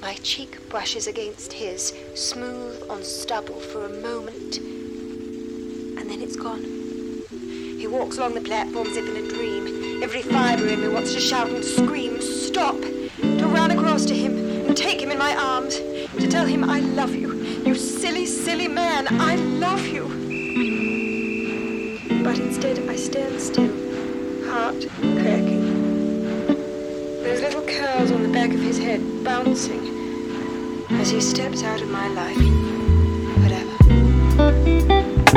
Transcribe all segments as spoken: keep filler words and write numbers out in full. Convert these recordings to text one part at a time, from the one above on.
My cheek brushes against his, smooth on stubble for a moment, and then it's gone. He walks along the platform as if in a dream. Every fibre in me wants to shout and scream, stop, to run across to him and take him in my arms, to tell him I love you, you silly, silly man, I love you. But instead I stand still, heart cracking. Those little curls on the back of his head bouncing as he steps out of my life forever.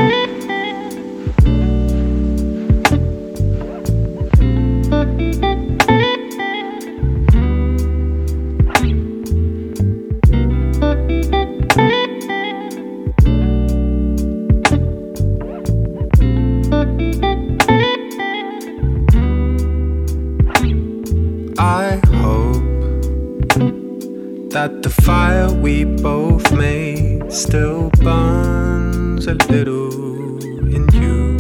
That the fire we both made still burns a little in you.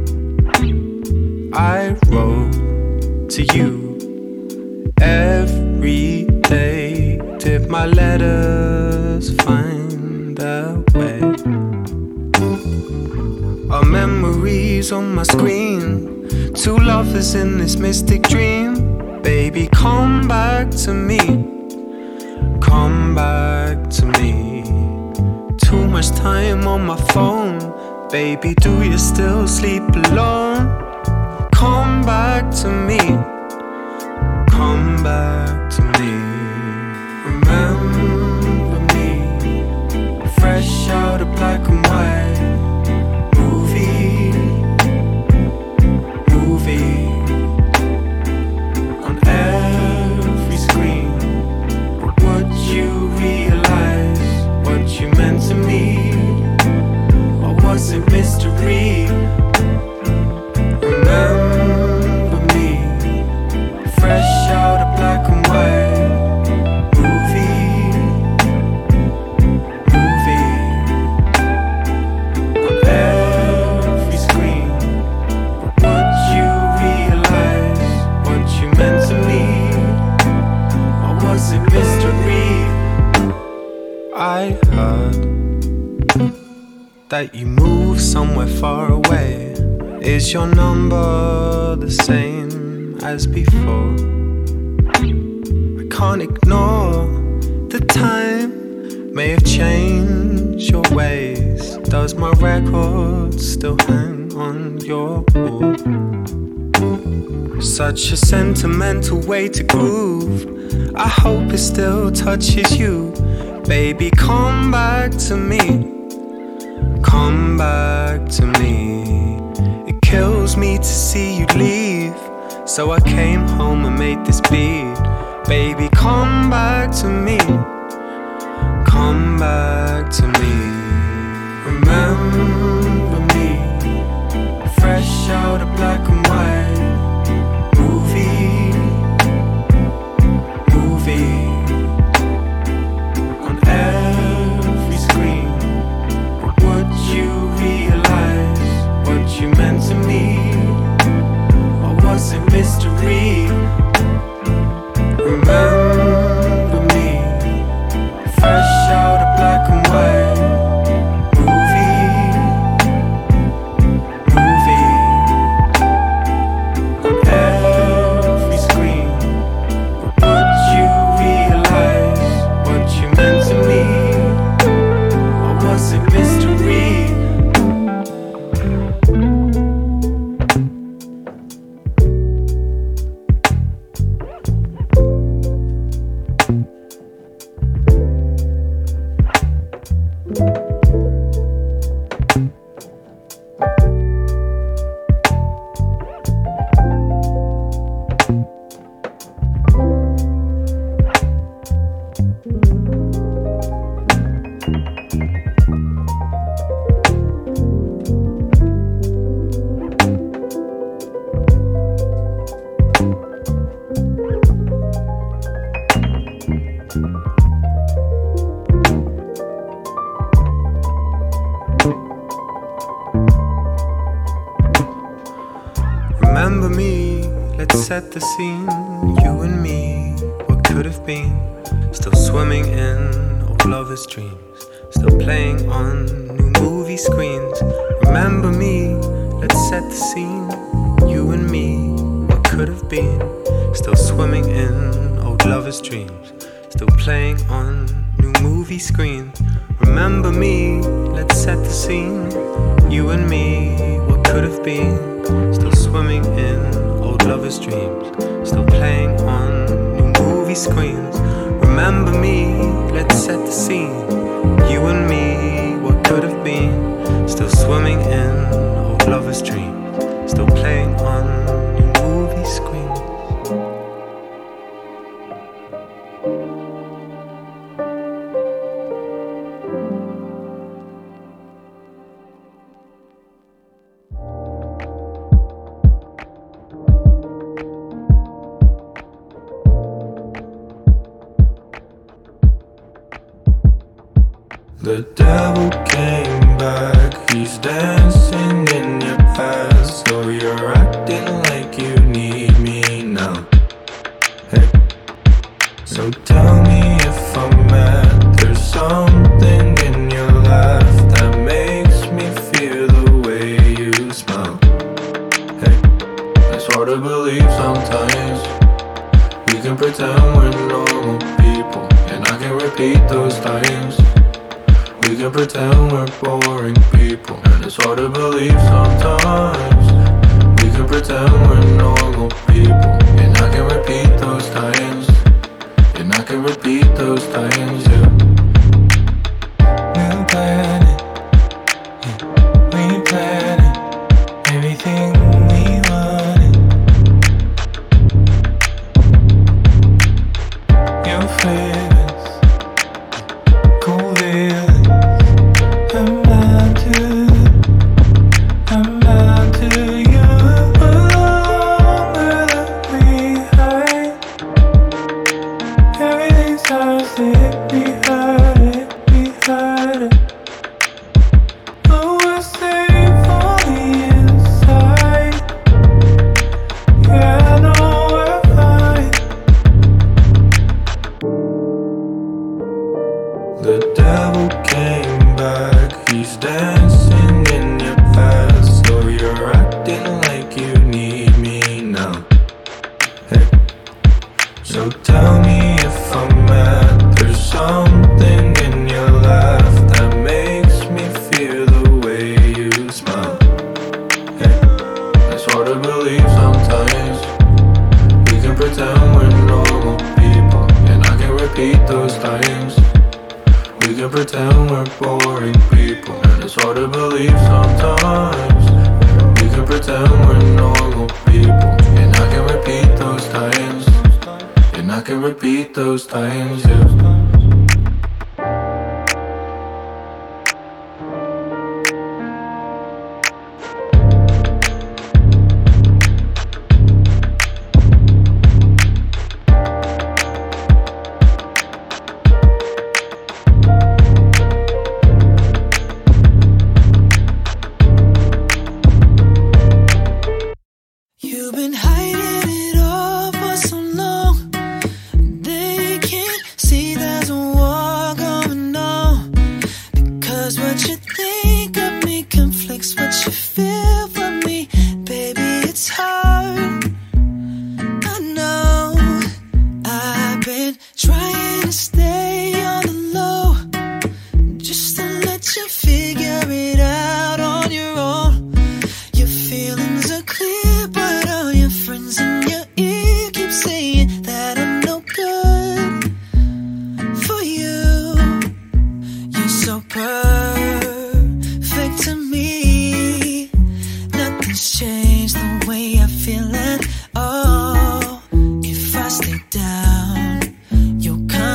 I wrote to you every day. Did my letters find their way? Our memories on my screen, two lovers in this mystic dream. Baby, come back to me. Come back to me. Too much time on my phone. Baby, do you still sleep alone? Come back to me. Come back to me. Remember me, fresh out of black and white. Movie, movie on every screen. You realize what you meant to me, or was it mystery? Remember me, fresh out of black and white. Movie, movie on every screen. But would you realize what you meant to me, or was it mystery? I heard that you moved somewhere far away. Is your number the same as before? I can't ignore the time may have changed your ways. Does my record still hang on your wall? Such a sentimental way to groove. I hope it still touches you. Baby, come back to me. Come back to me. It kills me to see you leave, so I came home and made this beat. Baby, come back to me. Come back to me. Remember me, fresh out of black and white. Movie, movie on every screen. But would you realize what you meant to me, or was it mystery? Remember me, fresh out of black and white. Movie, movie on every screen. But would you realize what you meant to me, or was it mystery? Remember me, let's set the scene. You and me were could have been. Still swimming in old lovers' dreams. Still playing on new movie screens. Remember me, let's set the scene. You and me, what could have been. Still swimming in old lovers' dreams. Still playing on new movie screens. Remember me, let's set the scene. You and me, what could have been. Still swimming in old lovers' dreams. Still playing on new movie screens. Remember me, let's set the scene. You and me, what could have been. Still swimming in old lovers' dreams. Still playing on new movie screens. The devil came back, he's dancing in your past. So you're acting like you need me now. Hey, so tell me if I'm mad. There's something in your laugh that makes me feel the way you smile. Hey, it's hard to believe sometimes. We can pretend we're normal people, and I can repeat those times. We can pretend we're boring people, and it's hard to believe sometimes. We can pretend we're normal people, and I can repeat those times. And I can repeat those times, yeah. We're planning, yeah. We planning everything we wanted. Your feelings, cool feelings. I'm out to, I'm out to you. Longer left behind. Everything starts to hit me hard, hit me harder. Oh, we're safe on the inside. Yeah, I know we're fine. The devil came back, he's dancing in your past. So you're acting like you need me now. Hey, so tell me if I'm mad. There's something in your laugh that makes me feel the way you smile. Hey, it's hard to believe sometimes. We can pretend we're normal people, and I can repeat those times. We can pretend we're boring people, and it's hard to believe sometimes. We can pretend we're normal people, and I can repeat those times. And I can repeat those times, yeah. You've been hiding it all for so long. They can't see there's a war going on. Because what you think of me conflicts what you feel for me. Baby, it's hard. I know. I've been trying to stay on the low, just to let you figure it out on your own. Your feelings are clear, but all your friends in your ear keep saying that I'm no good for you. You're so perfect to me. Nothing's changed the way I feel at all. If I stay down, you'll come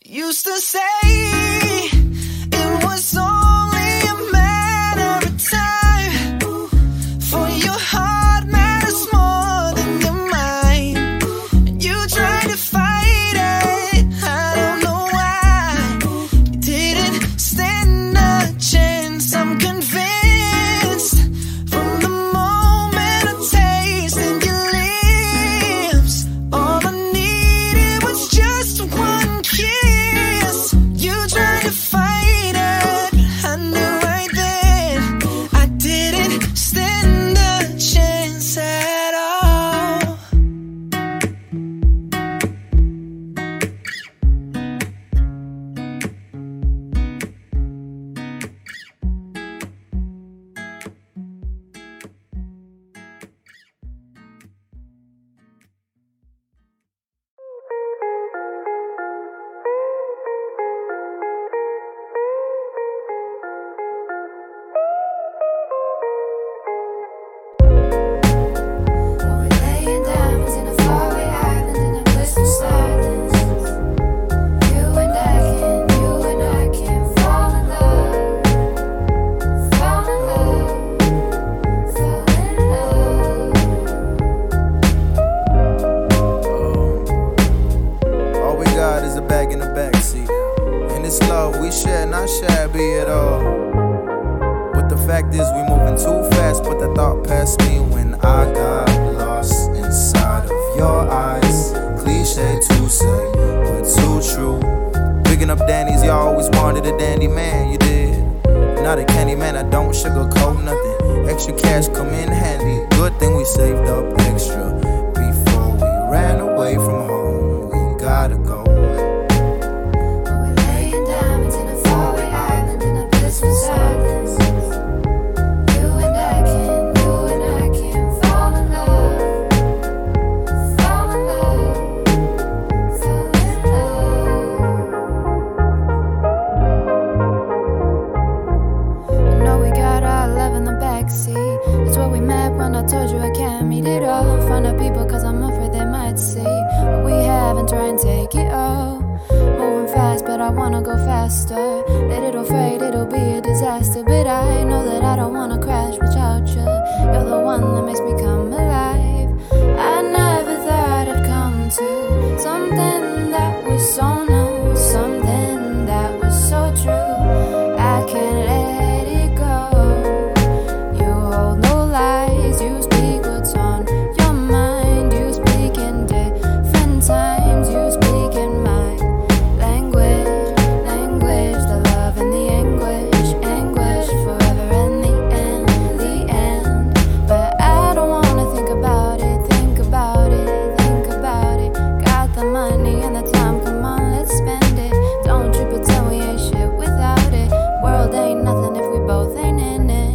Used to say it was only a matter of time for your heart matters more than your mind. And you tried to fight it, I don't know why. You didn't stand a chance, I'm convinced. From the moment I tasted your lips, all I needed was just one kiss. You tried to fight it, I knew right then I didn't stand a chance at all. We're laying diamonds in a faraway island in a blissful silence. You and I can, you and I can fall in love, fall in love, fall in love. All we got is a bag in the backseat. And it's love we share, not shabby at all. But the fact is we moving too fast, but the thought passed me when I got lost inside of your eyes. Cliche to say, but too true. Picking up Danny's, you always wanted a dandy man, you did. Not a candy man, I don't sugarcoat nothing. Extra cash come in handy. Good thing we saved up extra before we ran away from home. We gotta go. We're laying diamonds in a faraway island in a blissful silence. You and I can, you and I can fall in love, fall in love, fall in love. I know we got our love in the backseat. It's where we met when I told you I can't meet it all. Find out people cause I'm afraid they might see what we have and try and take it all. Moving fast, but I wanna go faster. Let it all fade, it'll be a disaster. But I know that I don't wanna crash without you. You're the one that makes me come alive. I never thought I'd come to something that was so new, something that was so true. I can't let it go. You hold no lies, you speak what's on your mind. You speak in different times, you speak in my language, language, the love and the anguish, anguish, forever and the end, the end. But I don't wanna think about it, think about it, think about it. Got the money and the time, come on, let's spend it. Don't you pretend we ain't shit without it. World ain't nothing if we both ain't in it.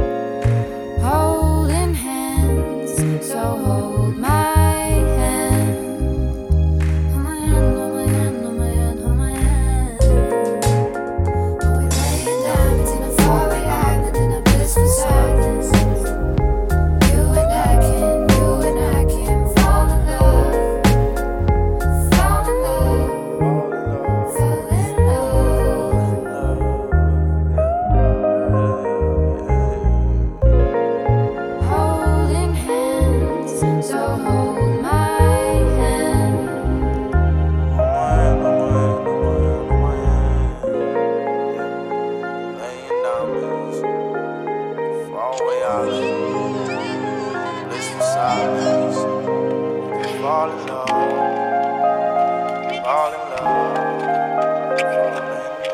Holding hands, so hold my hand. Hold my hand, hold my hand, hold my hand, hold my hand. We're laying diamonds in a faraway island in a blissful silence. You and I can, you and I can fall in love, fall in love, fall in love. Holding hands, so hold my hand. Laying diamonds, faraway island, blissful silence. Fall in love, fall in love, fall in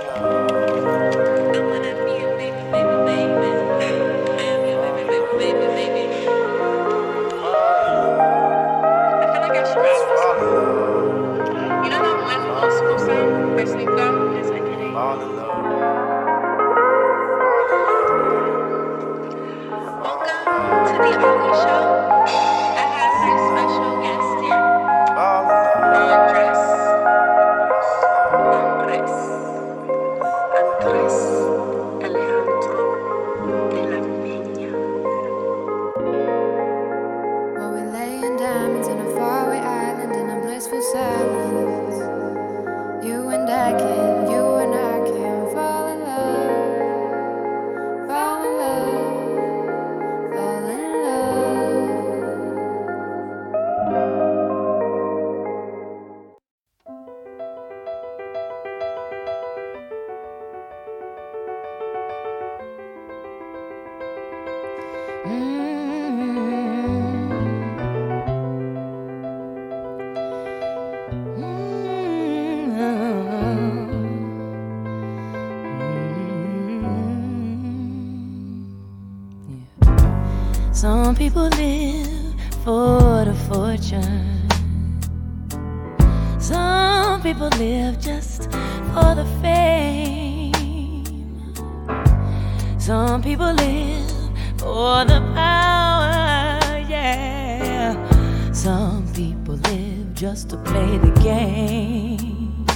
fall in love. Welcome to the Ollie Show. I have a very special guest here. Andres. Some people live for the fortune. Some people live just for the fame. Some people live for the power, yeah. Some people live just to play the game.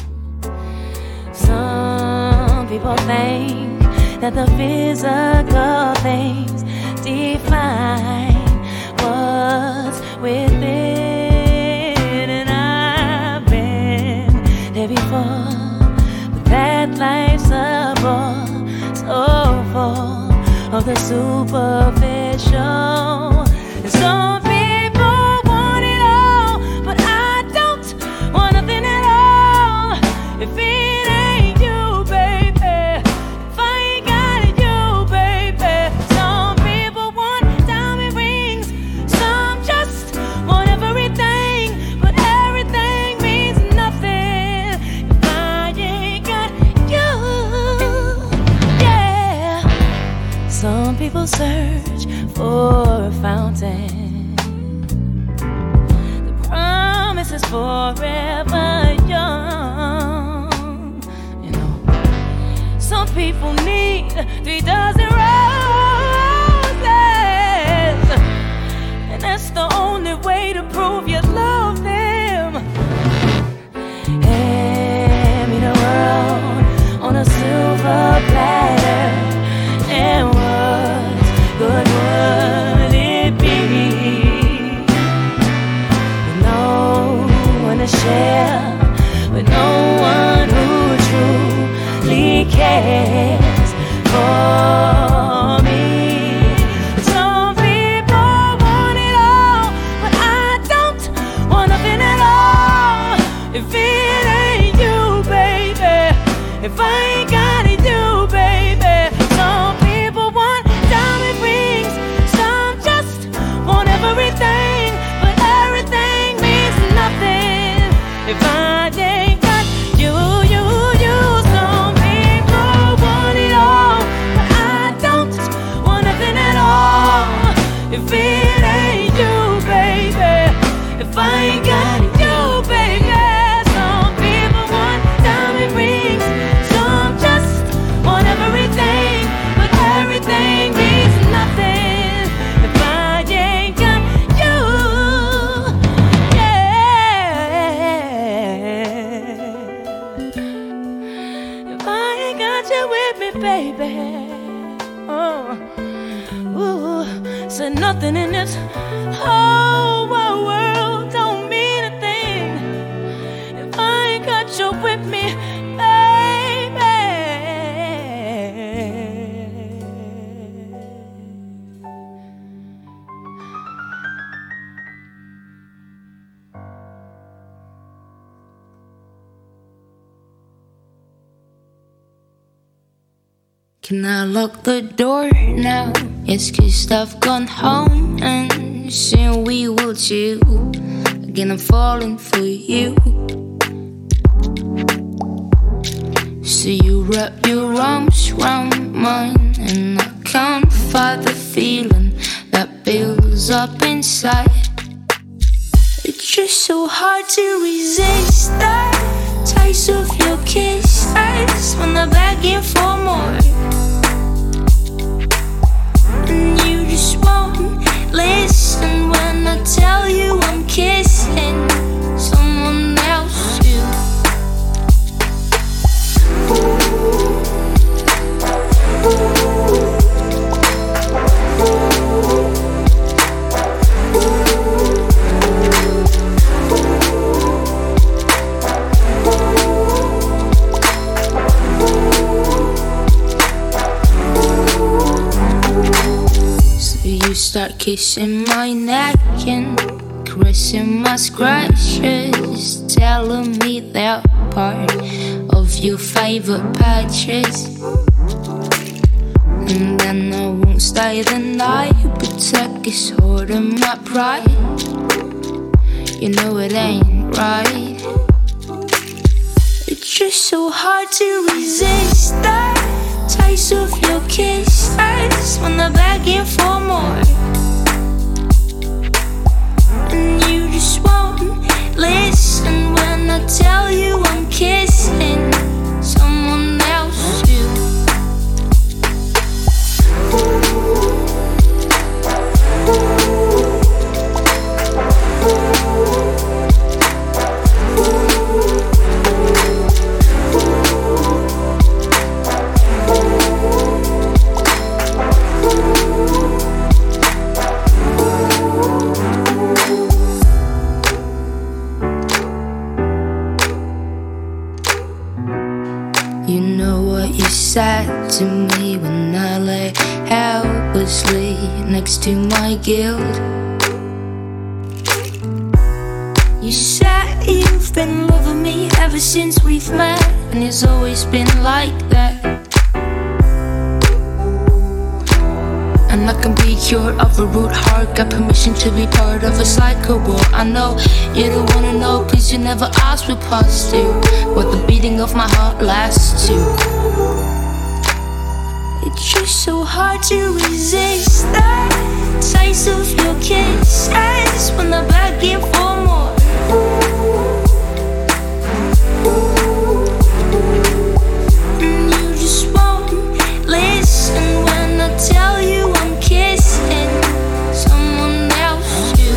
Some people think that the physical things define what's within. And I've been there before, but that life's a bore so full of the superficial. And some people want it all, but I don't want nothing at all. If it ain't you, baby, if I ain't got it, you, baby. Some people want diamond rings, some just want everything, but everything means nothing if I ain't got you. Yeah. Some people search for a fountain. The promise is forever young. You know, some people need three dozen roses, and that's the only way to prove you love them. Hand me the world on a silver platter, and what good would it be with no one to share, with no one who truly cares for me? Some people want it all, but I don't want nothing at all. If it ain't you, baby, if I ain't got it, you, baby. Some people want diamond rings, some just want everything, but everything means nothing if I ain't got you, you, you. Some people want it all, but I don't want nothing at all. If it ain't you, baby, if I ain't got you, baby. Some people want diamond rings, some just want everything, but everything means nothing if I ain't got you. Yeah. If I ain't got you with me, baby. Oh, ooh, said nothing in this whole wide world don't mean a thing if I ain't got you with me, baby. Can I lock the door now? Yes, cause I've gone home and soon we will chill. Again, I'm falling for you. So you wrap your arms round mine, and I can't fight the feeling that builds up inside. It's just so hard to resist that taste of your kisses when they're begging for more. And you just won't listen when I tell you I'm kissing someone else too. You start kissing my neck and caressing my scratches, telling me they're part of your favorite patches. And then I won't stay the night, protect this heart and my pride. You know it ain't right. It's just so hard to resist that taste of your kisses when they're begging for more. and you just won't listen when I tell you I'm kissing someone else too. You know what you said to me when I lay helplessly next to my guilt. You said you've been loving me ever since we've met, and it's always been like that. And I can be cured of a rude heart, got permission to be part of a cycle. But I know you don't wanna know, cause you never asked for past to what the beating of my heart lasts to. It's just so hard to resist that taste of your kisses when I'm begging for more. And you just won't listen when I tell you I'm kissing someone else too.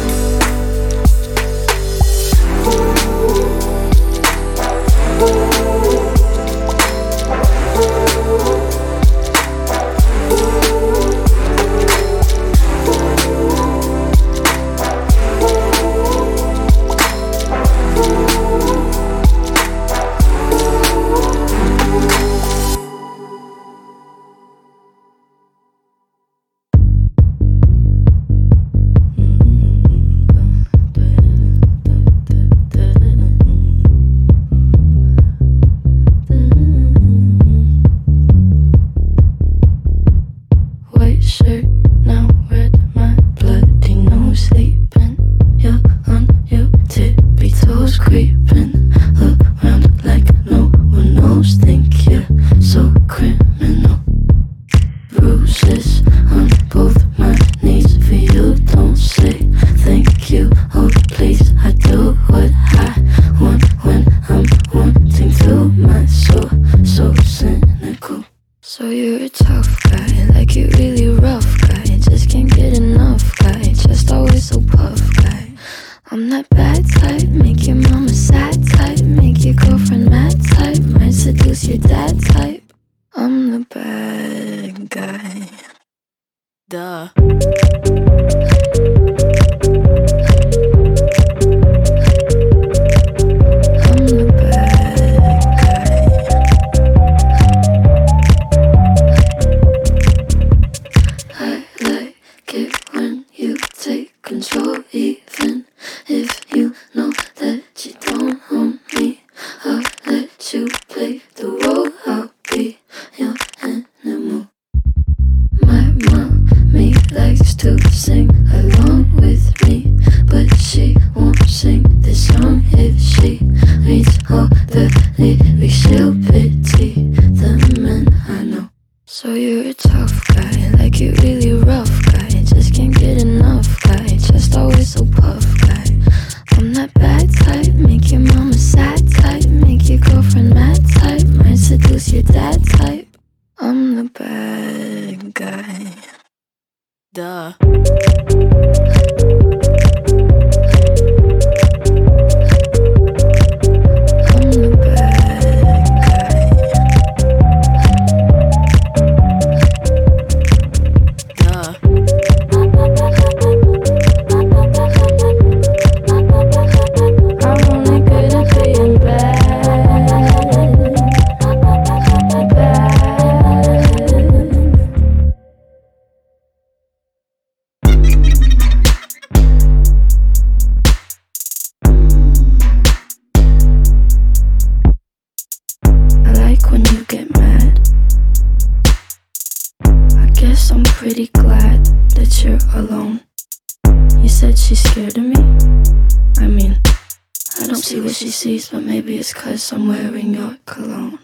But maybe it's 'cause I'm wearing your cologne.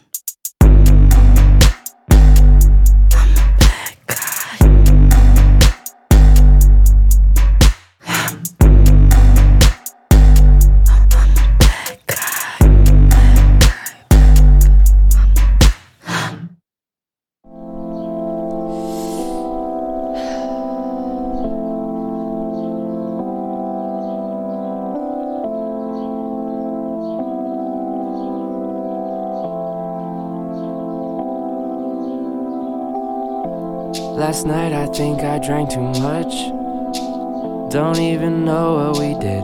I'm a bad guy. Last night I think I drank too much. Don't even know what we did.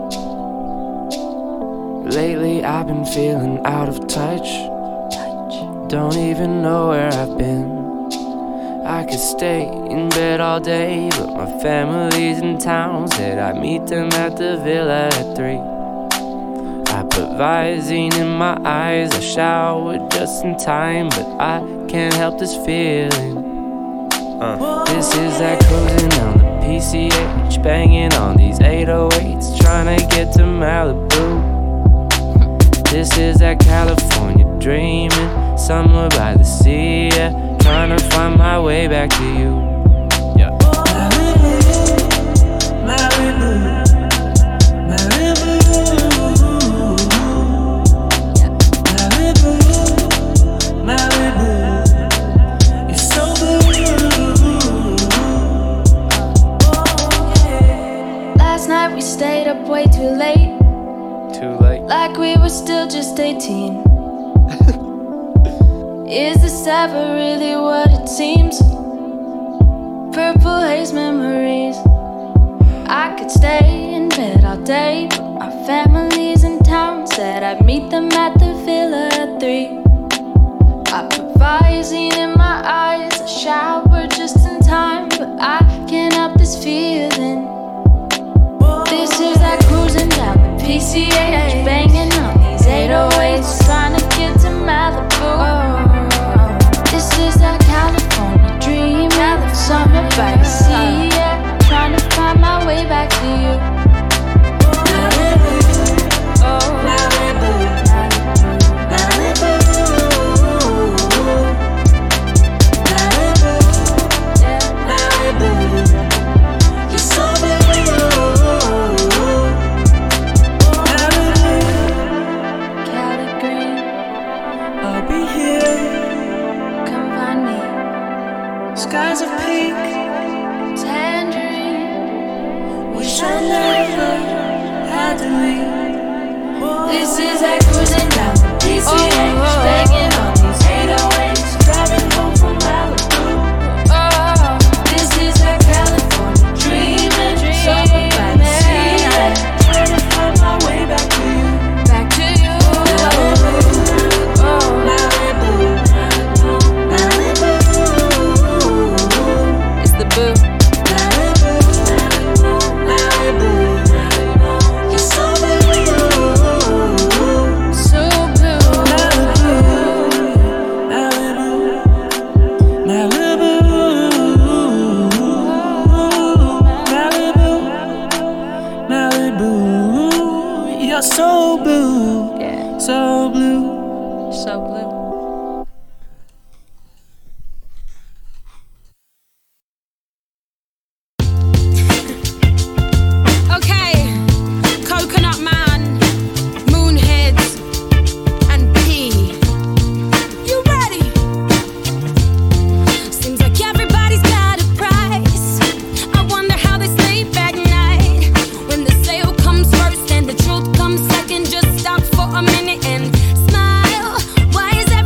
Lately I've been feeling out of touch. Don't even know where I've been. I could stay in bed all day, but my family's in town. Said I'd meet them at the villa at three. I put Visine in my eyes, I showered just in time, but I can't help this feeling. Uh. This is that cruising down the P C H, banging on these eight oh eights, trying to get to Malibu. This is that California dreaming, somewhere by the sea, yeah, trying to find my way back to you. Yeah. Malibu, Malibu. We stayed up way too late. Too late. Like we were still just eighteen. Is this ever really what it seems? Purple haze memories. I could stay in bed all day, but my family's in town. Said I'd meet them at the villa at three. I put Visine in my eyes, I showered just in time, but I can't help this feeling. This is that cruising down the P C H, banging on these eight oh eights, trying to get to Malibu. This is that California dream, summer by the sea, yeah, trying to find my way back to you. Malibu, oh Malibu, Malibu, Malibu, yeah, Malibu. You're so beautiful. Skies of pink, tangerine. Wish I never had to leave. This is that cruising down the P C H, banging on these eight oh eights, driving home from Malibu. Oh, this is that California dreaming, summer by the sea, trying to find my way back to you, back to you. Oh, oh, Malibu, Malibu. The boo. Malibu, Malibu, you're so blue, so blue. Malibu, Malibu, Malibu, Malibu, you're so blue, yeah, so blue, so blue. Comes second, just stop for a minute and smile. Why is everything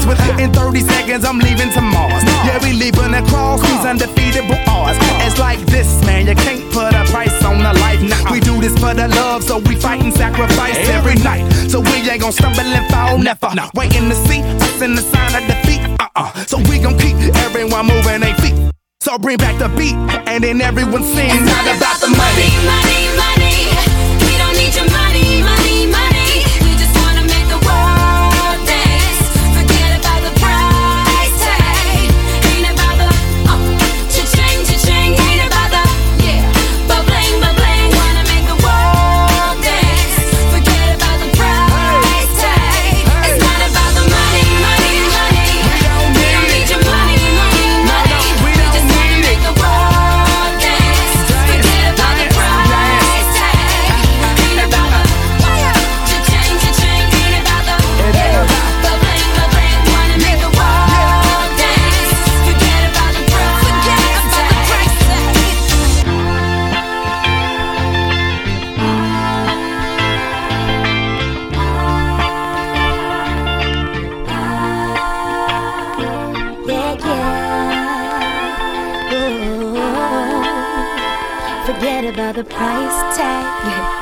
Within thirty seconds, I'm leaving to Mars. Yeah, we leaving across these undefeatable odds. It's like this, man, you can't put a price on a life. Nah, we do this for the love, so we fight and sacrifice every night. So we ain't gon' stumble and fall, never. Waiting to see us in the sign of defeat. Uh-uh. So we gon' keep everyone moving their feet. So bring back the beat, and then everyone sings. It's not about the money, money, money. We don't need your money, money, money. We just wanna make the world dance. Forget about the price tag. Ain't about the oh, cha-ching, cha-ching. Ain't about the yeah, ba-bling, ba-bling. Wanna make the world dance. Forget about the price tag. It's not about the money, money, money. We don't need your money, money, money. We just wanna make the world dance. Forget about the price tag. Ain't about the cha-ching, cha-ching. Ain't about the yeah, ba-bling, ba-bling. Wanna make the world dance. Forget about the price Yeah, yeah. Ooh. Forget about the price tag. Yeah.